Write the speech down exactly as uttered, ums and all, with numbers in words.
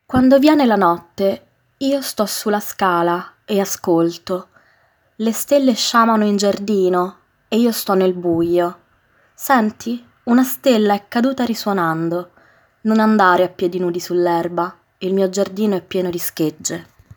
Quando viene la notte, io sto sulla scala e ascolto. Le stelle sciamano in giardino e io sto nel buio. Senti? Una stella è caduta risuonando. Non andare a piedi nudi sull'erba, il mio giardino è pieno di schegge.